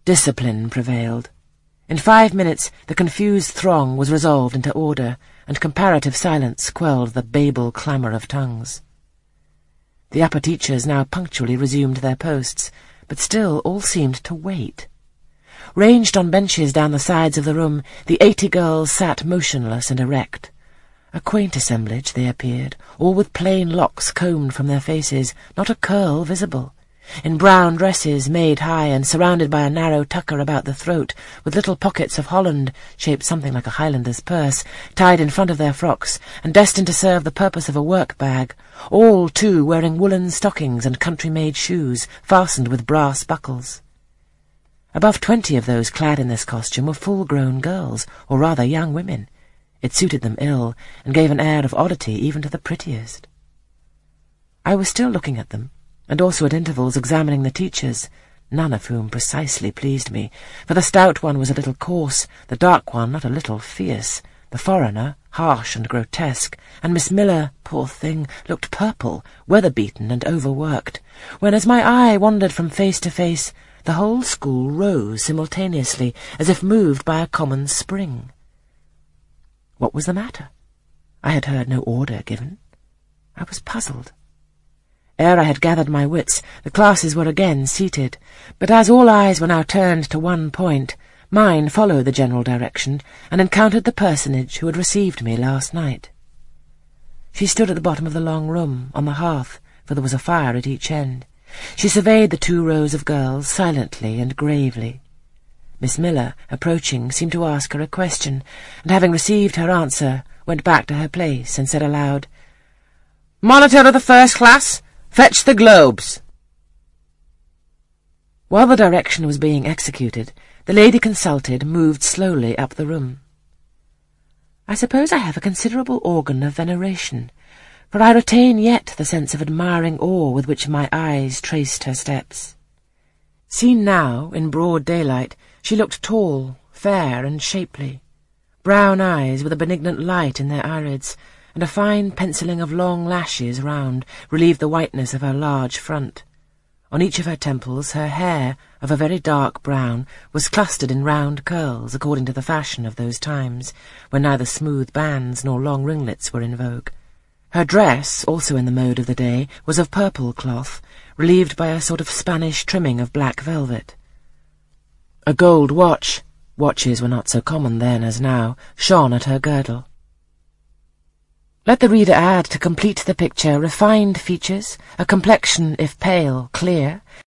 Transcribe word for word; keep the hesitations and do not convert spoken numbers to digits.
Discipline prevailed. In five minutes the confused throng was resolved into order, and comparative silence quelled the Babel clamour of tongues. The upper teachers now punctually resumed their posts, but still all seemed to wait. Ranged on benches down the sides of the room, the eighty girls sat motionless and erect. A quaint assemblage they appeared, all with plain locks combed from their faces, not a curl visible, in brown dresses made high and surrounded by a narrow tucker about the throat, with little pockets of holland, shaped something like a Highlander's purse, tied in front of their frocks, and destined to serve the purpose of a work-bag, all, too, wearing woollen stockings and country-made shoes, fastened with brass buckles. Above twenty of those clad in this costume were full-grown girls, or rather young women. It suited them ill, and gave an air of oddity even to the prettiest. I was still looking at them, and also at intervals examining the teachers, none of whom precisely pleased me, for the stout one was a little coarse, the dark one not a little fierce, the foreigner harsh and grotesque, and Miss Miller, poor thing, looked purple, weather-beaten and overworked, when as my eye wandered from face to face, the whole school rose simultaneously, as if moved by a common spring. What was the matter? I had heard no order given. I was puzzled. Ere I had gathered my wits, the classes were again seated, but as all eyes were now turned to one point, mine followed the general direction, and encountered the personage who had received me last night. She stood at the bottom of the long room, on the hearth, for there was a fire at each end. She surveyed the two rows of girls silently and gravely. Miss Miller, approaching, seemed to ask her a question, and having received her answer, went back to her place and said aloud, "Monitor of the first class, fetch the globes." While the direction was being executed, the lady consulted moved slowly up the room. I suppose I have a considerable organ of veneration, for I retain yet the sense of admiring awe with which my eyes traced her steps. Seen now, in broad daylight, she looked tall, fair, and shapely. Brown eyes with a benignant light in their irids, and a fine pencilling of long lashes round relieved the whiteness of her large front. On each of her temples her hair, of a very dark brown, was clustered in round curls, according to the fashion of those times, when neither smooth bands nor long ringlets were in vogue. Her dress, also in the mode of the day, was of purple cloth, relieved by a sort of Spanish trimming of black velvet. A gold watch, watches were not so common then as now, shone at her girdle. Let the reader add to complete the picture refined features, a complexion, if pale, clear,